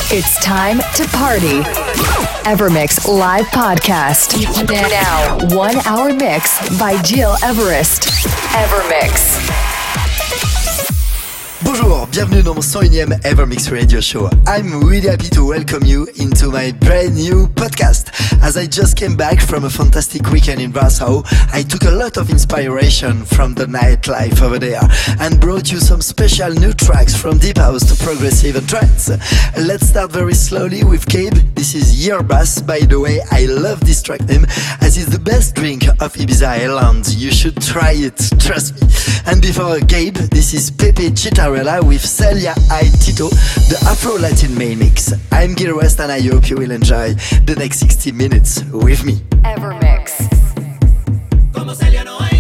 It's time to party. Evermix Live Podcast. Now, 1 hour mix by Gil Everest. Evermix. Bonjour, bienvenue dans mon 101e Evermix Radio Show. I'm really happy to welcome you into my brand new podcast. As I just came back from a fantastic weekend in Warsaw, I took a lot of inspiration from the nightlife over there and brought you some special new tracks from deep house to progressive and trance. Let's start very slowly with Gabe. This is Yerbas. By the way, I love this track name as it's the best drink of Ibiza Island. You should try it, trust me. And before Gabe, this is Pepe Chitarella with Celia I Tito, the Afro-Latin main mix. I'm Gil West and I hope you will enjoy the next 60 minutes with me. Evermix. Como Celia no hay.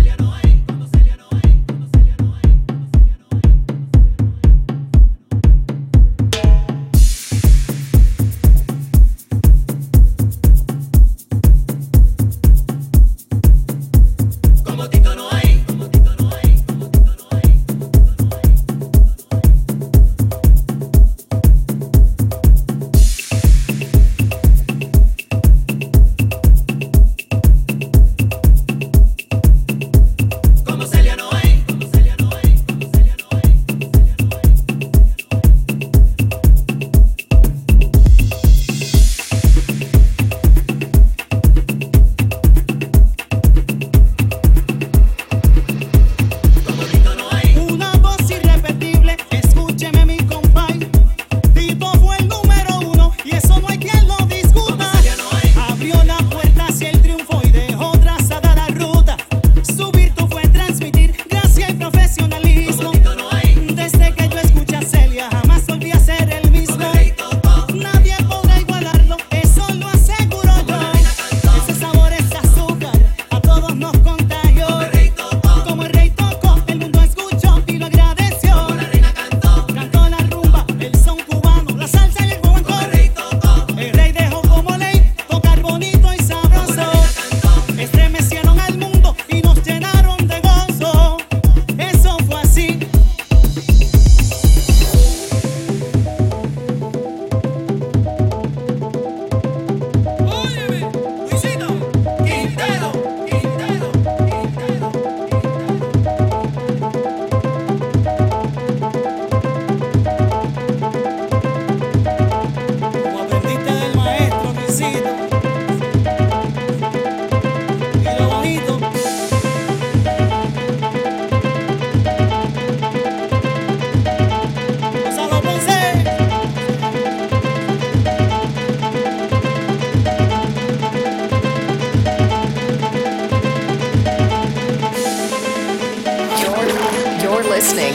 Listening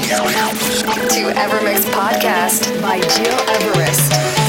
to Evermix Podcast by Gil Everest.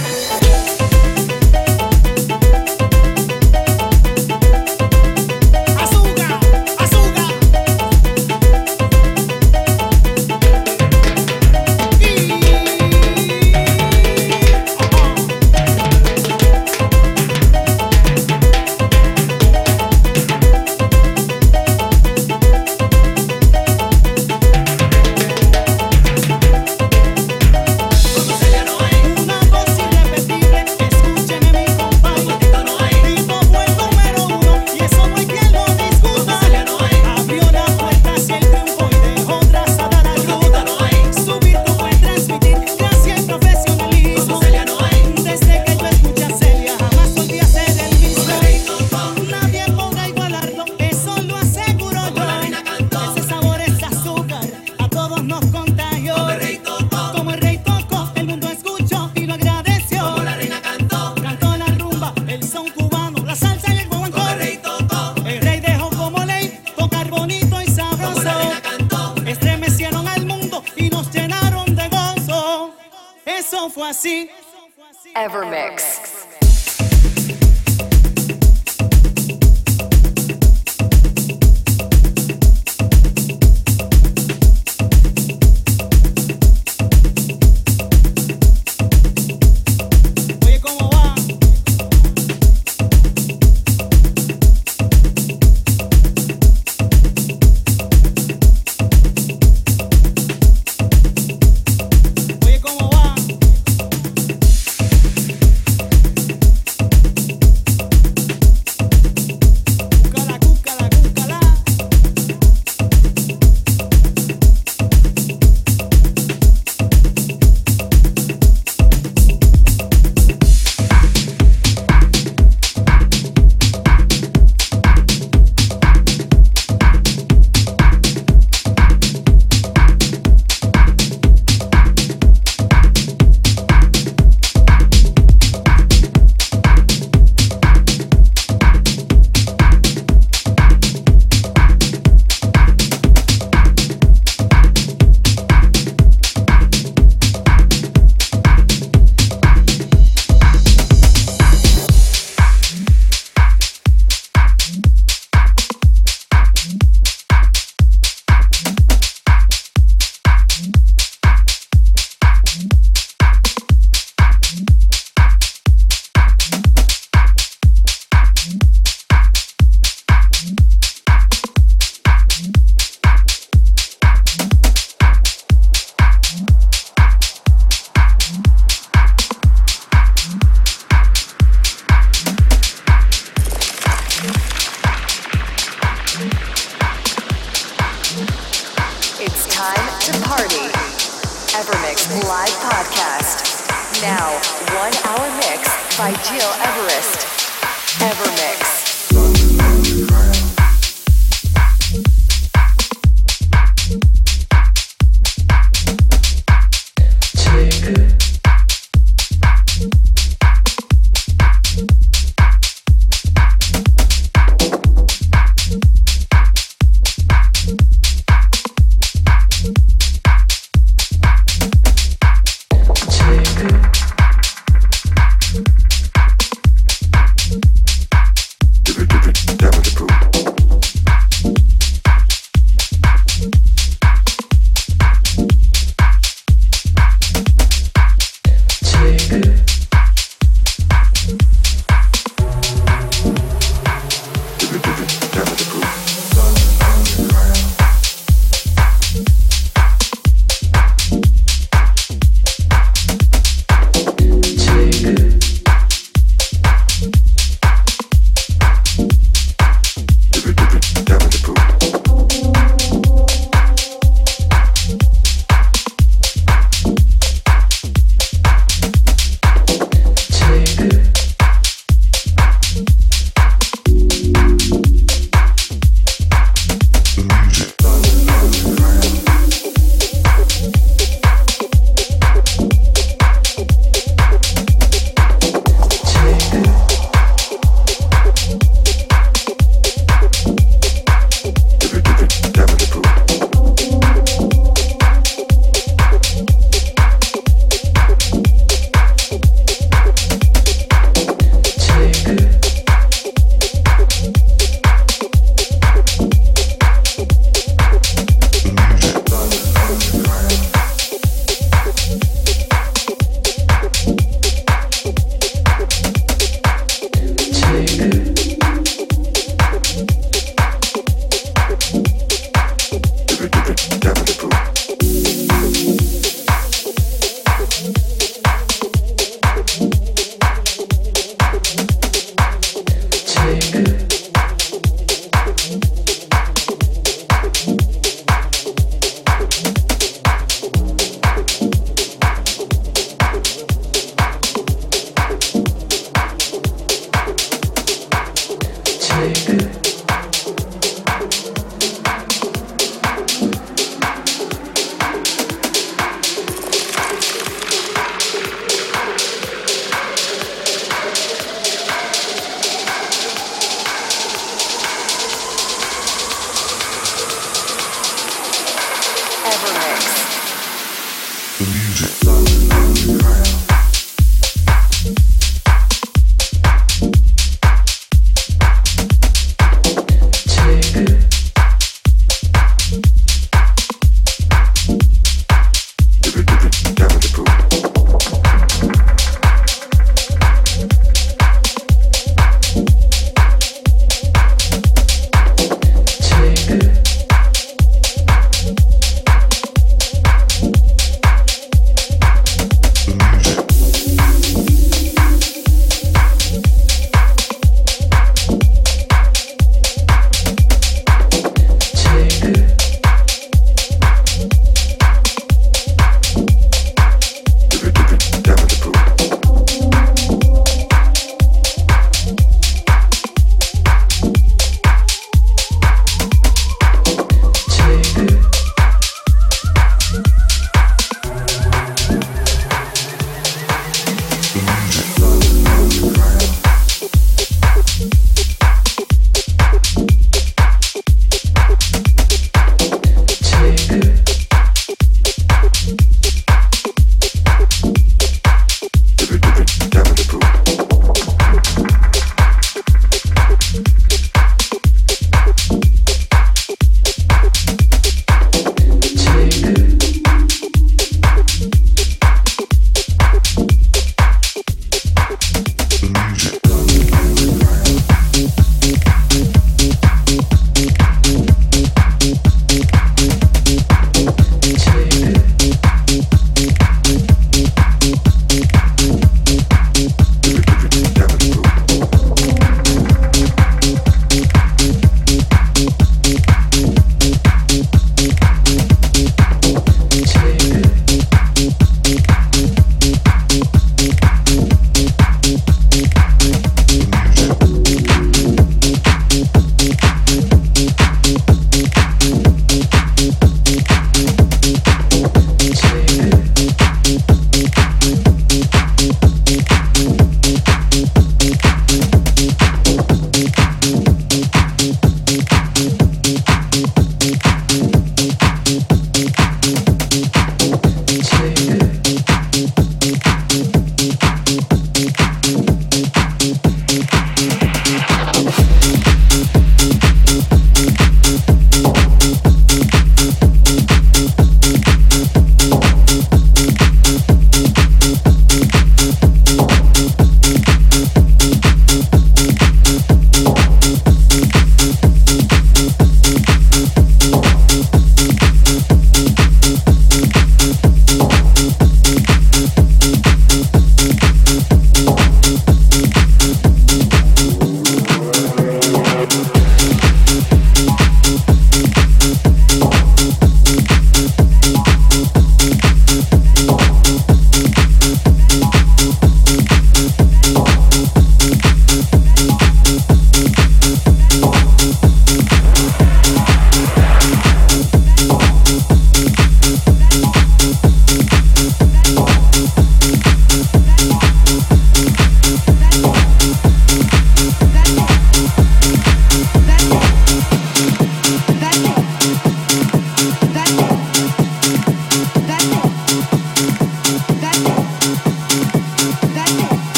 Evermix. Podcast. Now, 1 hour mix by Gil Everest. Evermix.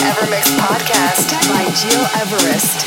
Evermix Podcast by Gil Everest.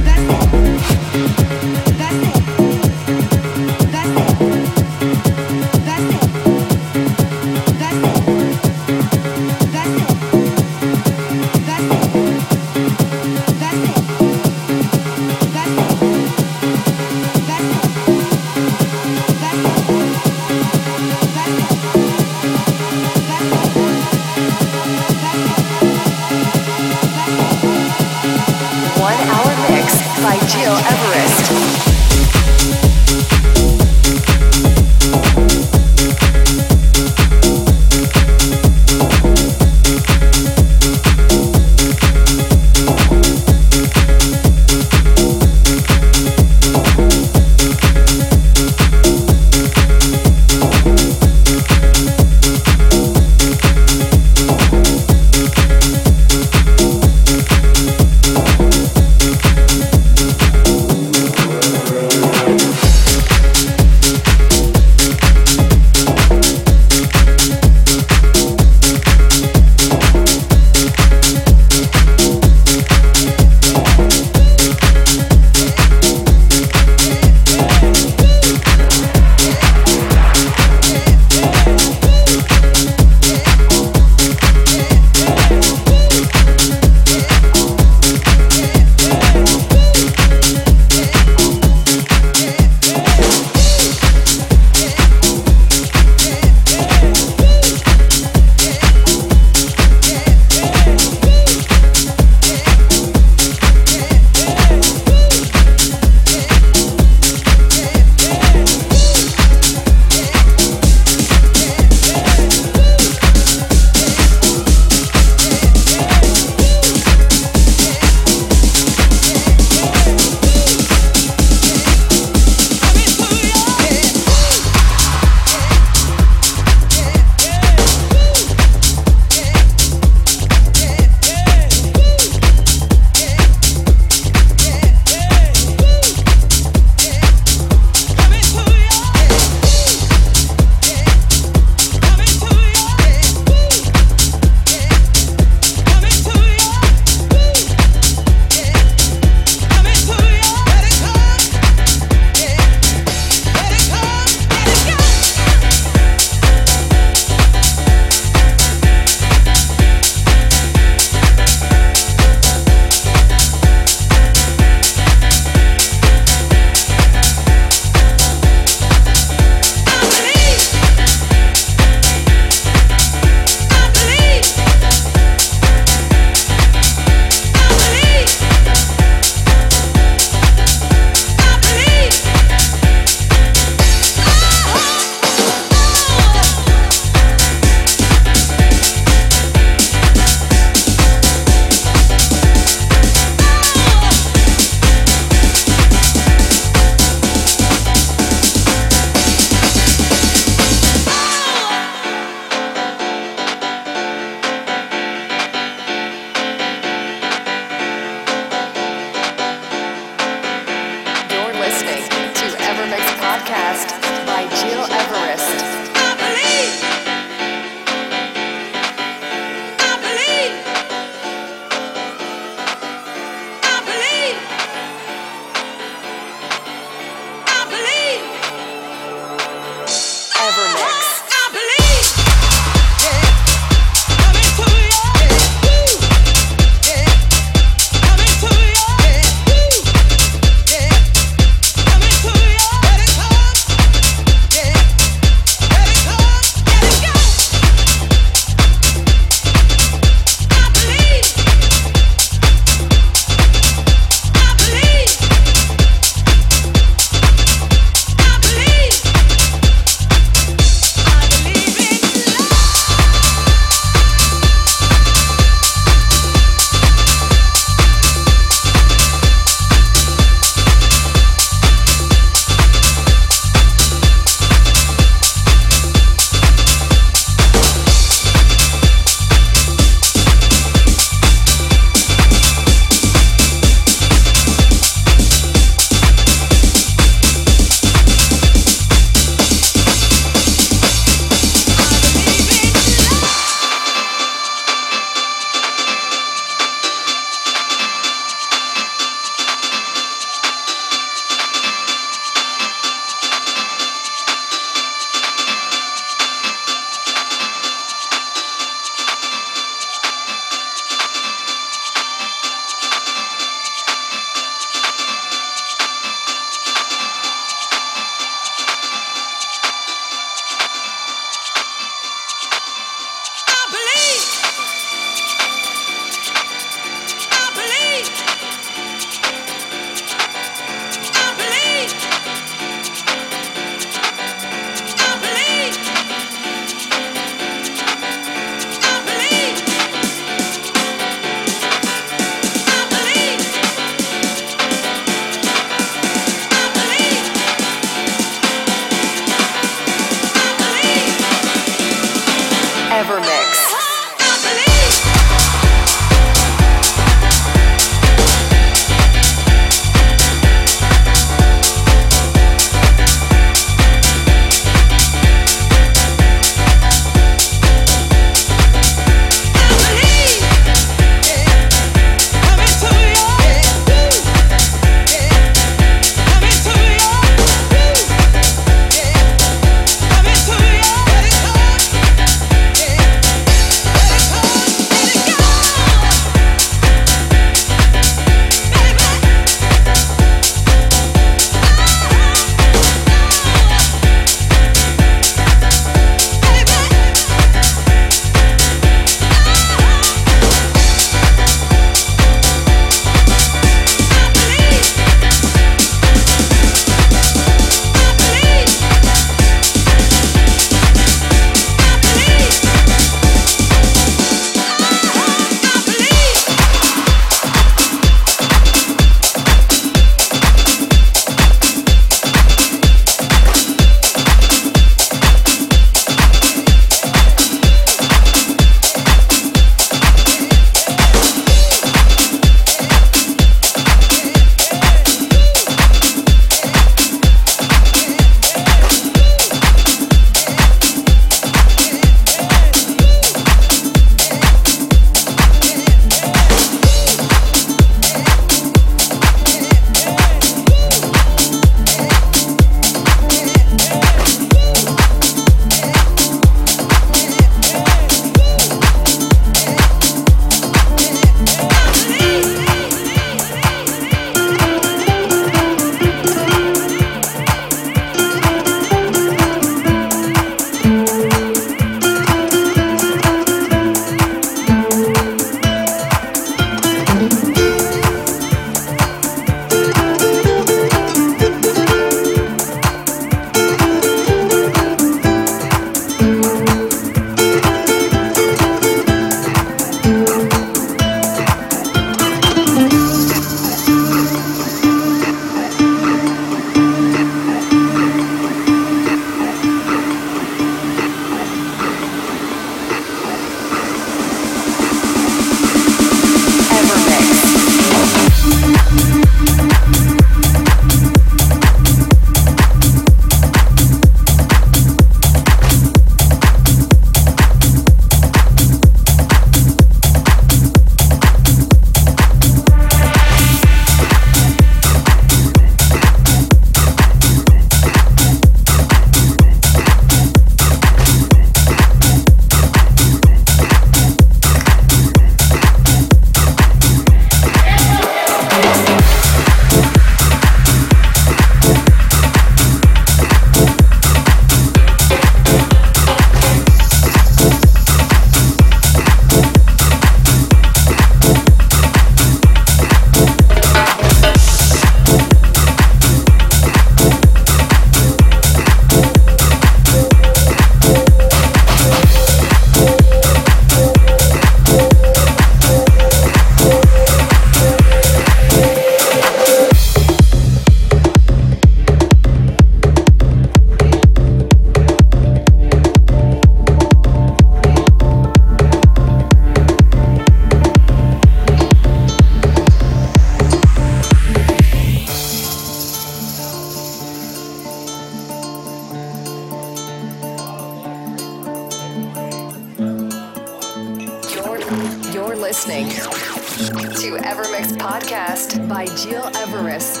You're listening to Evermix Podcast by Jill Everest.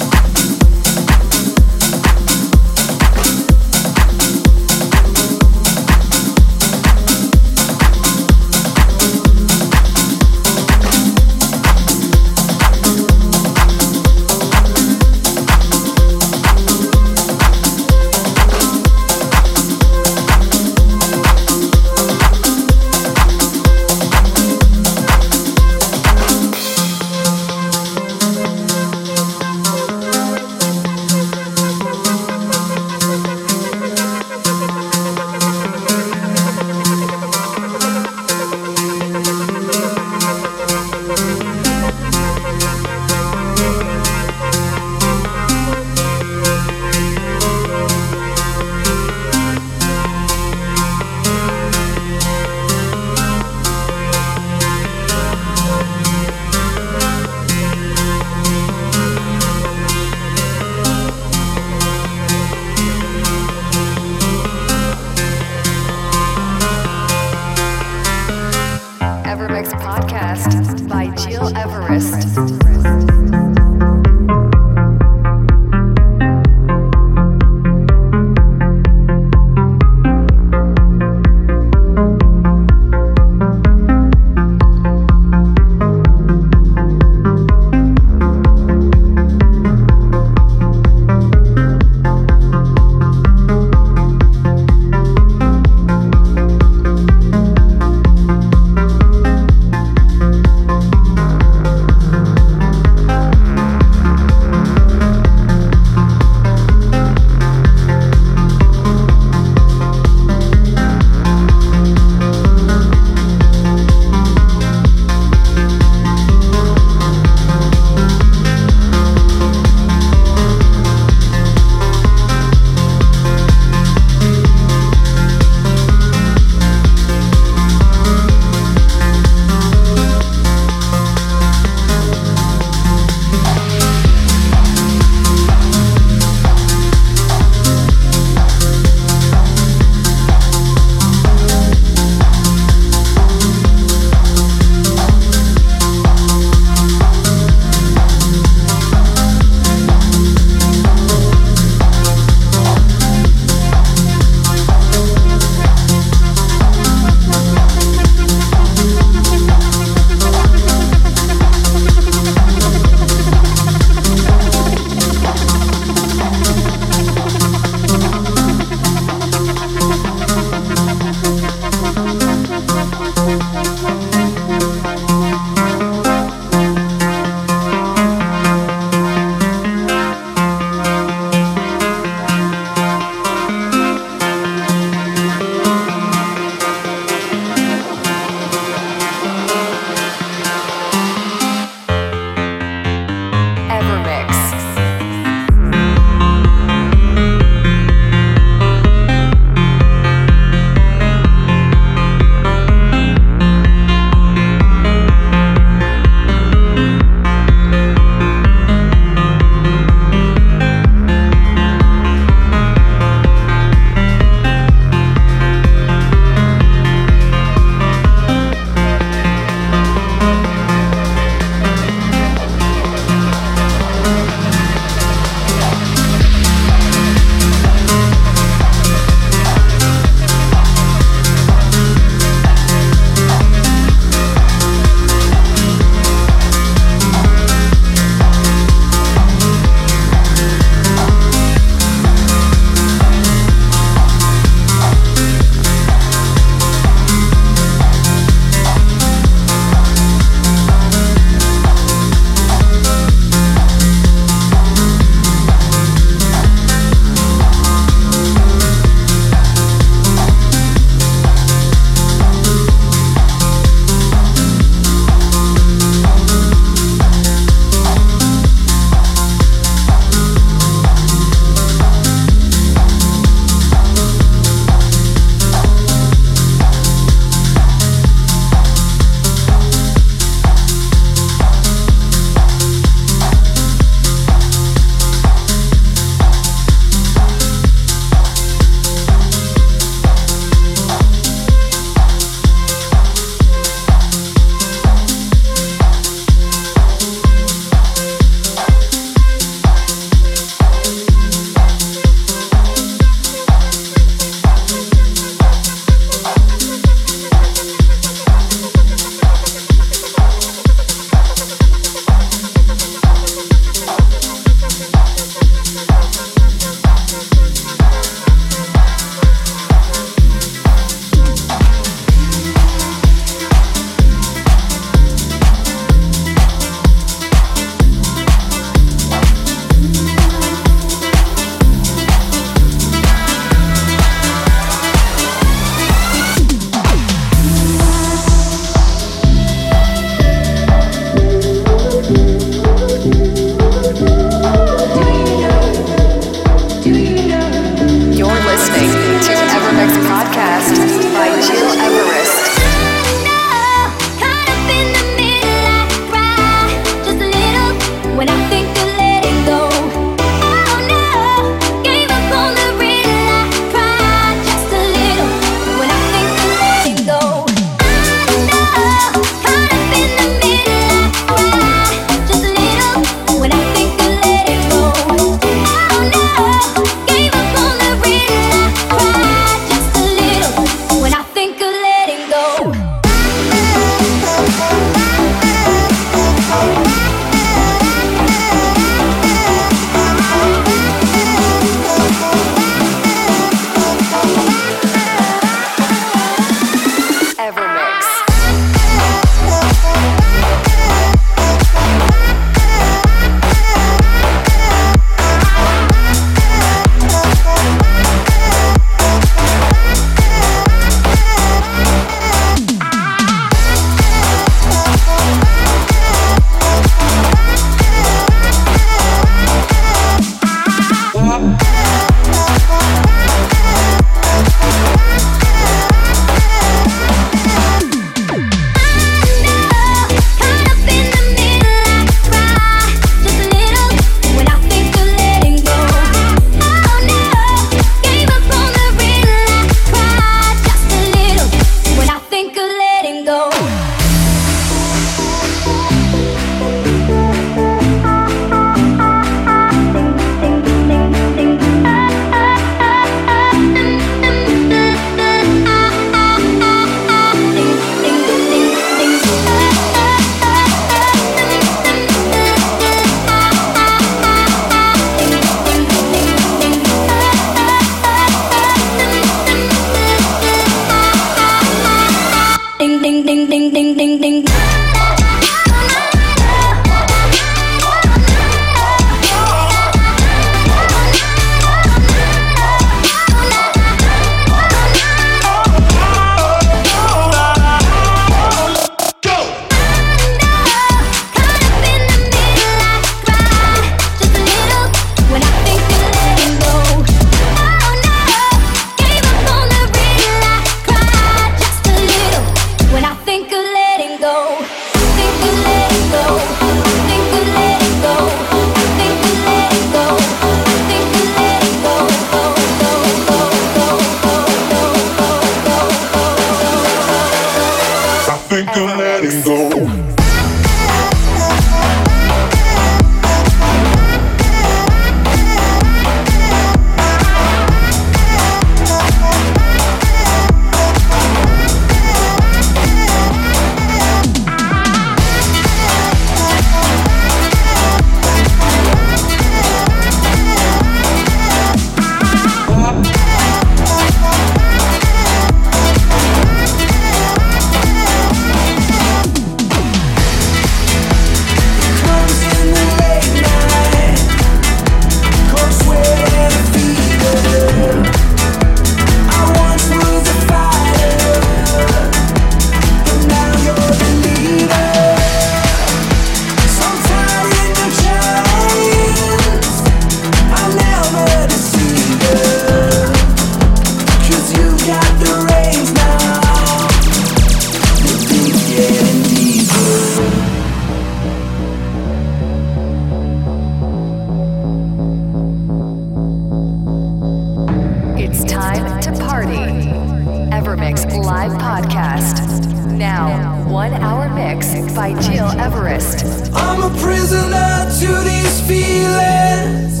time to party. Evermix live podcast. Now, 1 hour mix by Gil Everest. I'm a prisoner to these feelings.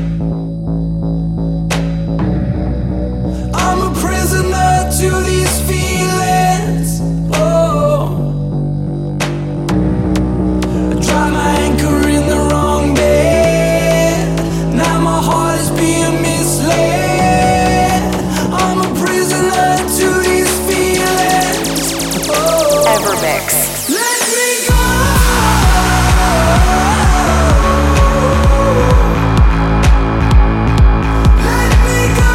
I'm a prisoner to these feelings. Oh, I dropped my anchor in the wrong bed. Now my heart is being misled. I'm a prisoner to these feelings. Oh, Evermix. let me go. Let me go.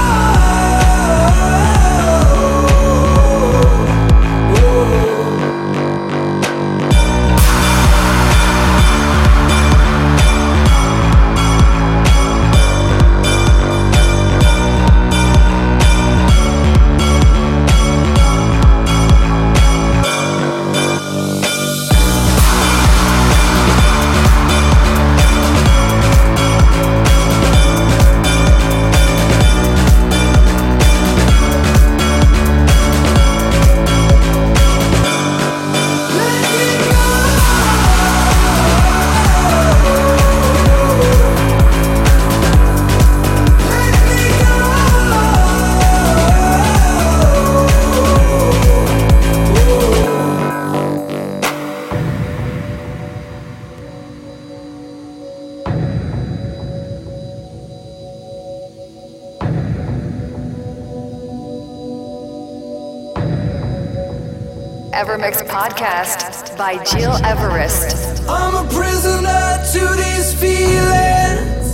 Evermix podcast by Gil Everest. I'm a prisoner to these feelings.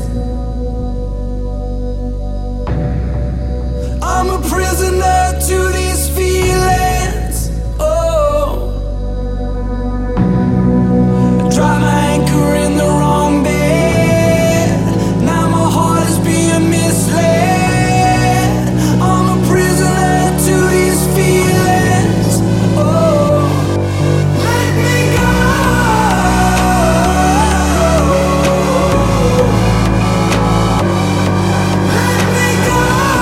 I'm a prisoner to these feelings. Oh, I dropped my anchor in the wrong bed. Now my heart is being misled. I'm a prisoner to these feelings. Oh, let me go. Let me go.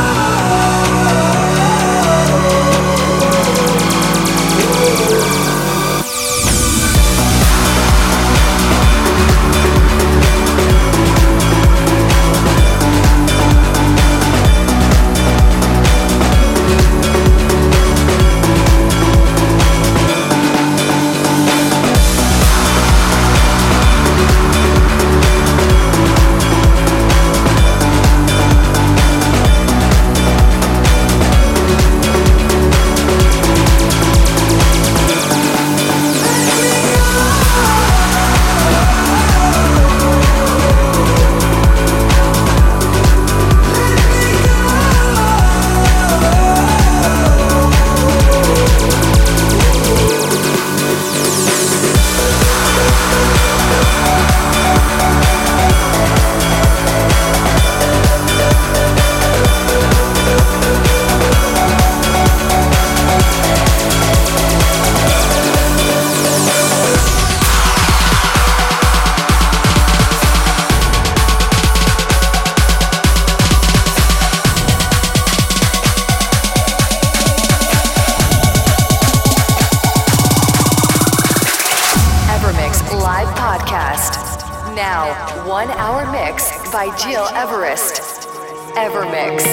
Now, 1 hour mix by Gil Everest. Evermix.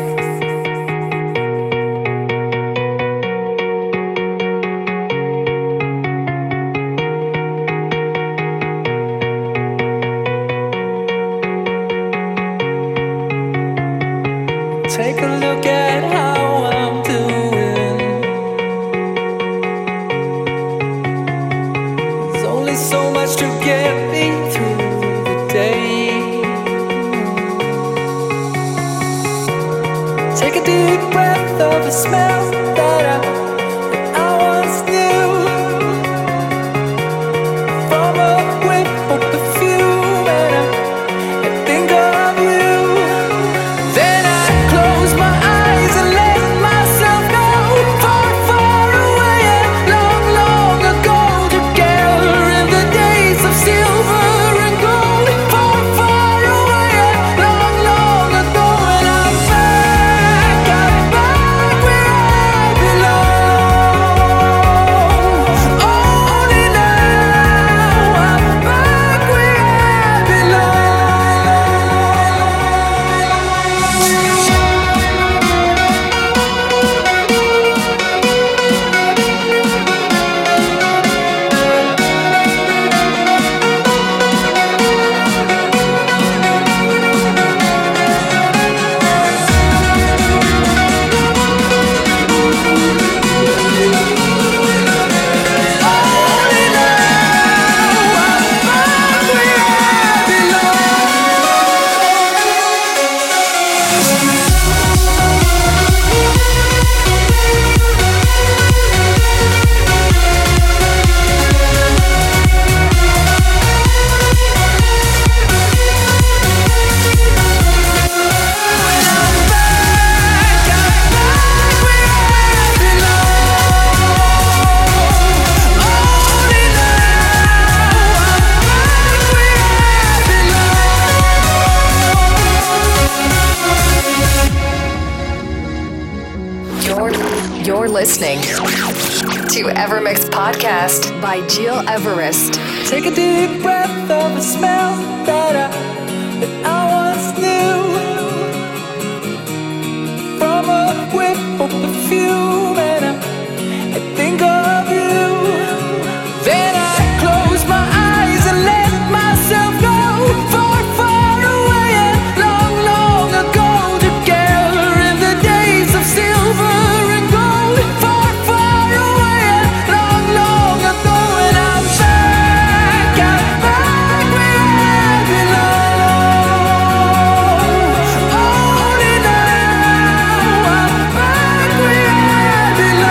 Take a look at how I'm doing. There's only so much to get me through the day. Take a deep breath of the smell that I once knew. From a whiff of perfume, and I think of you. Then I close my eyes and let myself go far, far away and long, long ago. Together in the days of silver and gold. Far, far away and long, long ago. And I'm back. listening to Evermix Podcast by Gil Everest. Take a deep breath of a smell that I once knew. From a whiff of perfume, and I think of you. Then I close my eyes and let myself go far, far away and long, long ago. Together in the days of silver and gold. Far, far away and long, long ago. And I'm back where I belong. Only now I'm back where I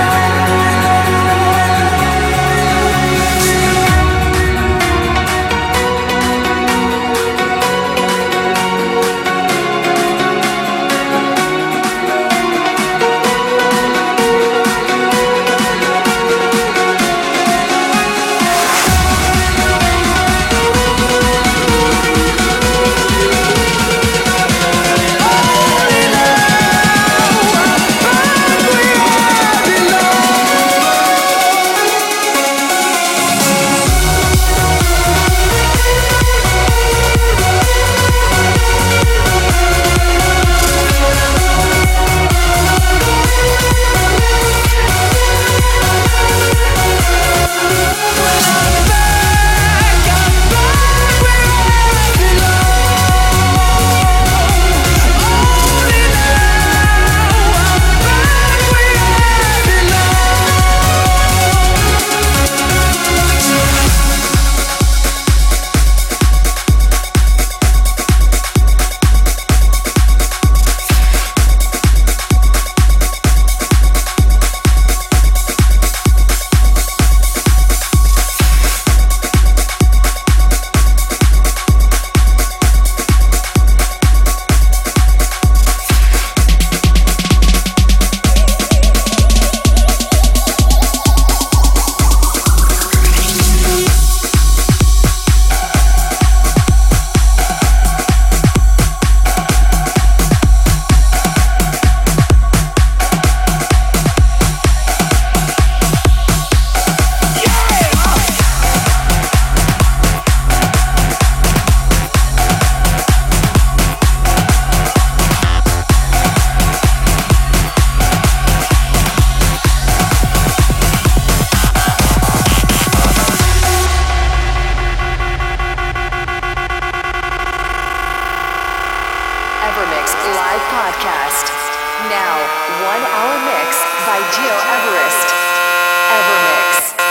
Evermix Live Podcast. Now, 1 hour mix by Gil Everest. Evermix.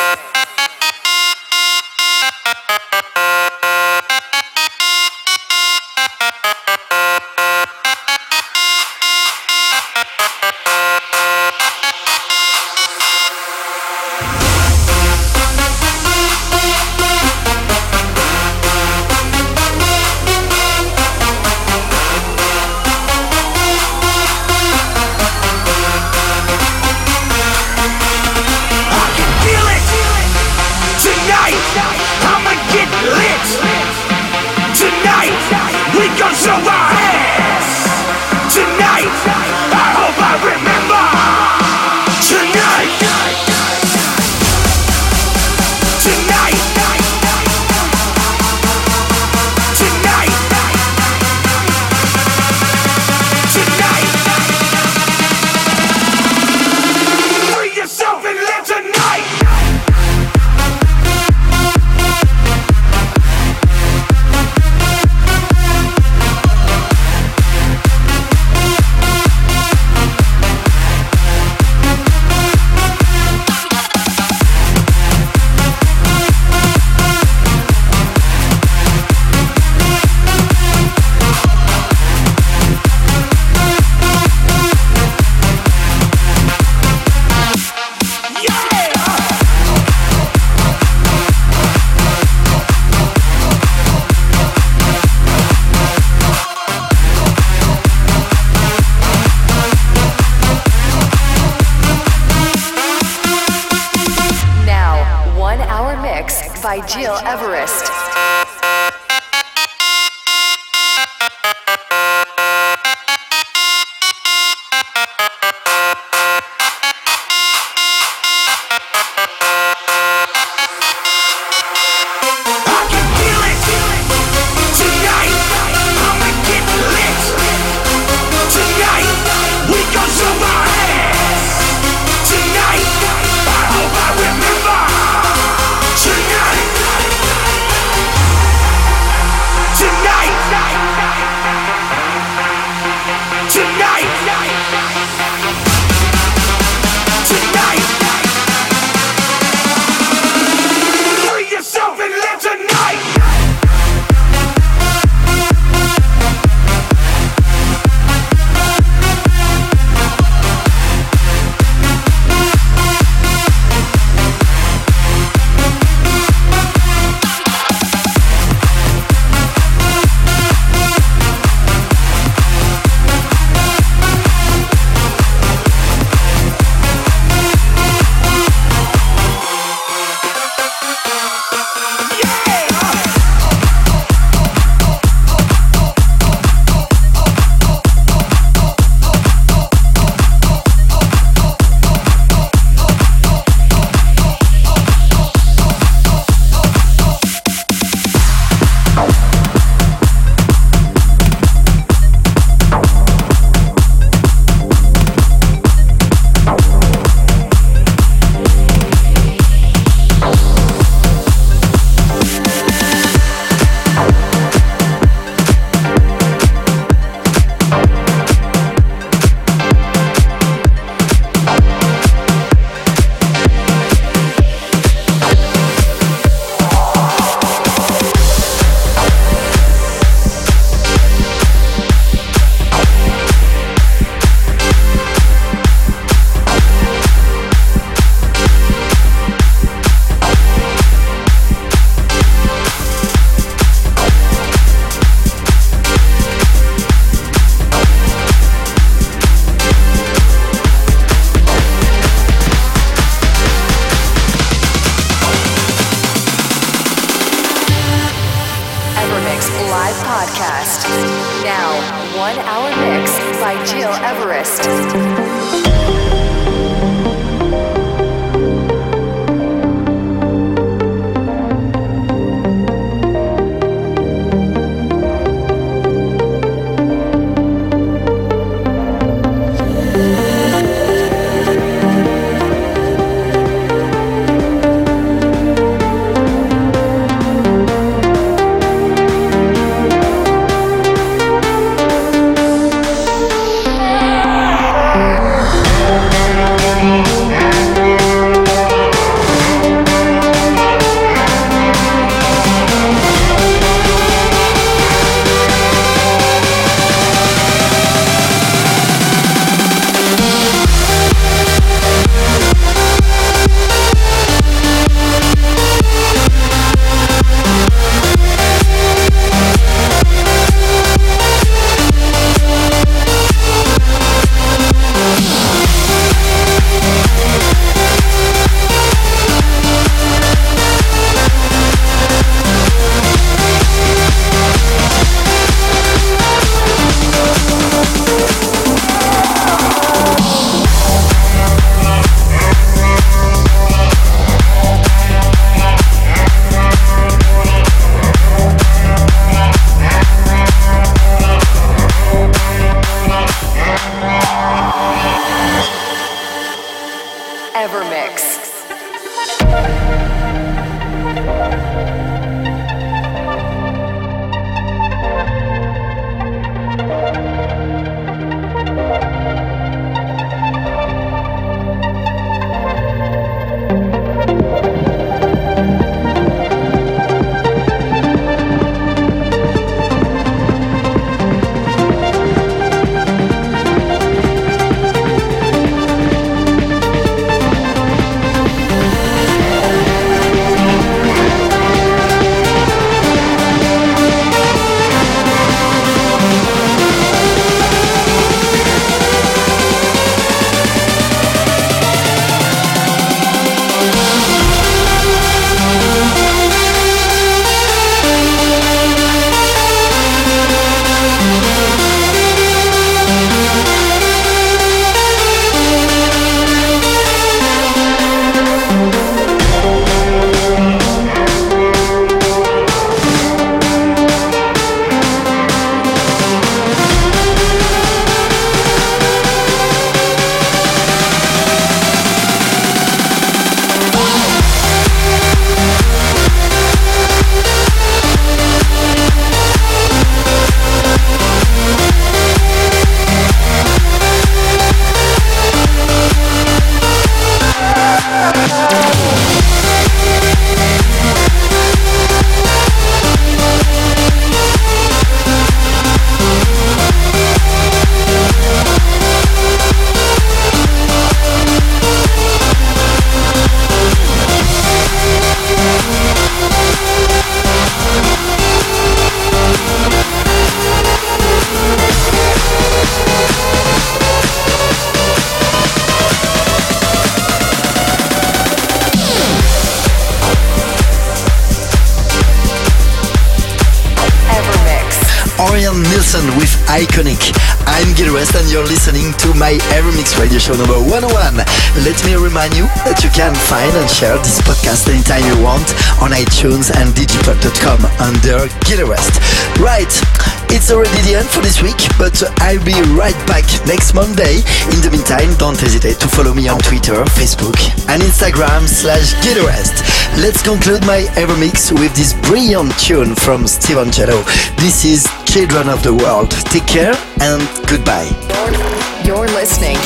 Show our hands tonight. I hope I remember tonight. Tonight. Tonight. Tonight. Free yourself and live tonight. By Gil Everest. live podcast. Now, 1 hour mix by Gil Everest. Orion Nilsson with Iconic. I'm Gil Everest and you're listening to my Evermix radio show number 101. Let me remind you that you can find and share this podcast anytime you want on iTunes and digipod.com under Gil Everest. Right, it's already the end for this week, but I'll be right back next Monday. In the meantime, don't hesitate to follow me on Twitter, Facebook and Instagram/Gil Everest. Let's conclude my Evermix with this brilliant tune from Steve Angello. This is Children of the World. Take care and goodbye. You're listening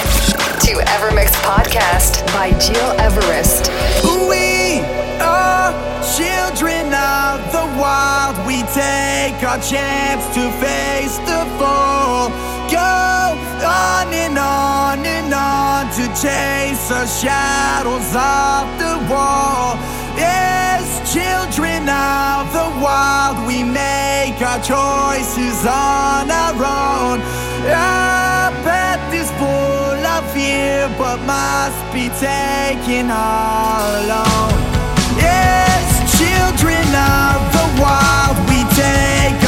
to Evermix Podcast by Gil Everest. We are children of the wild. We take our chance to face the fall. Go on and on and on to chase the shadows of the wall. Yes, children of the wild, we make our choices on our own. Our path is full of fear, but must be taken all alone. Yes, children of the wild, we take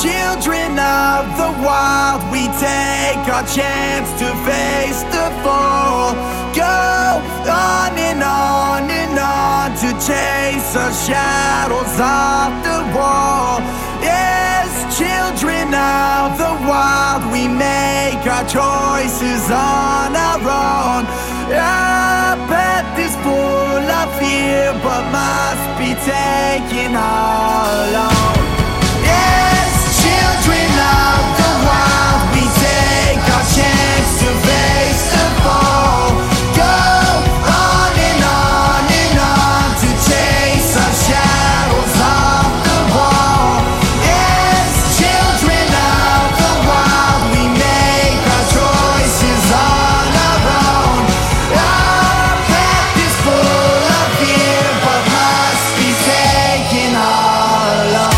children of the wild, we take our chance to face the fall. Go on and on to chase the shadows off the wall. Yes, children of the wild, we make our choices on our own. Our path is full of fear, but must be taken all alone. Yes, children of the wild, we take our chance to face the fall. Go on and on to chase our shadows off the wall. Yes, children of the wild, we make our choices on our own. Our path is full of fear, but must be taken all alone.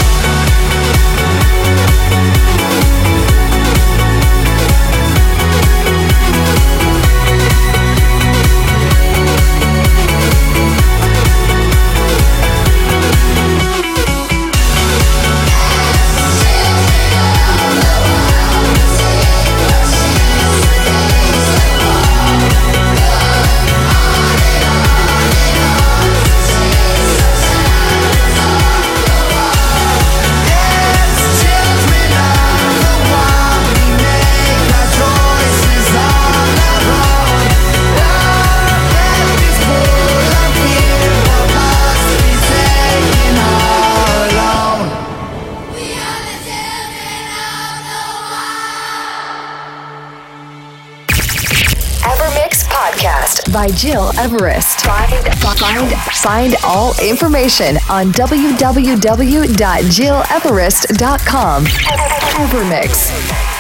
Evermix Podcast by Jill Everest. Find all information on www.jilleverest.com. Evermix.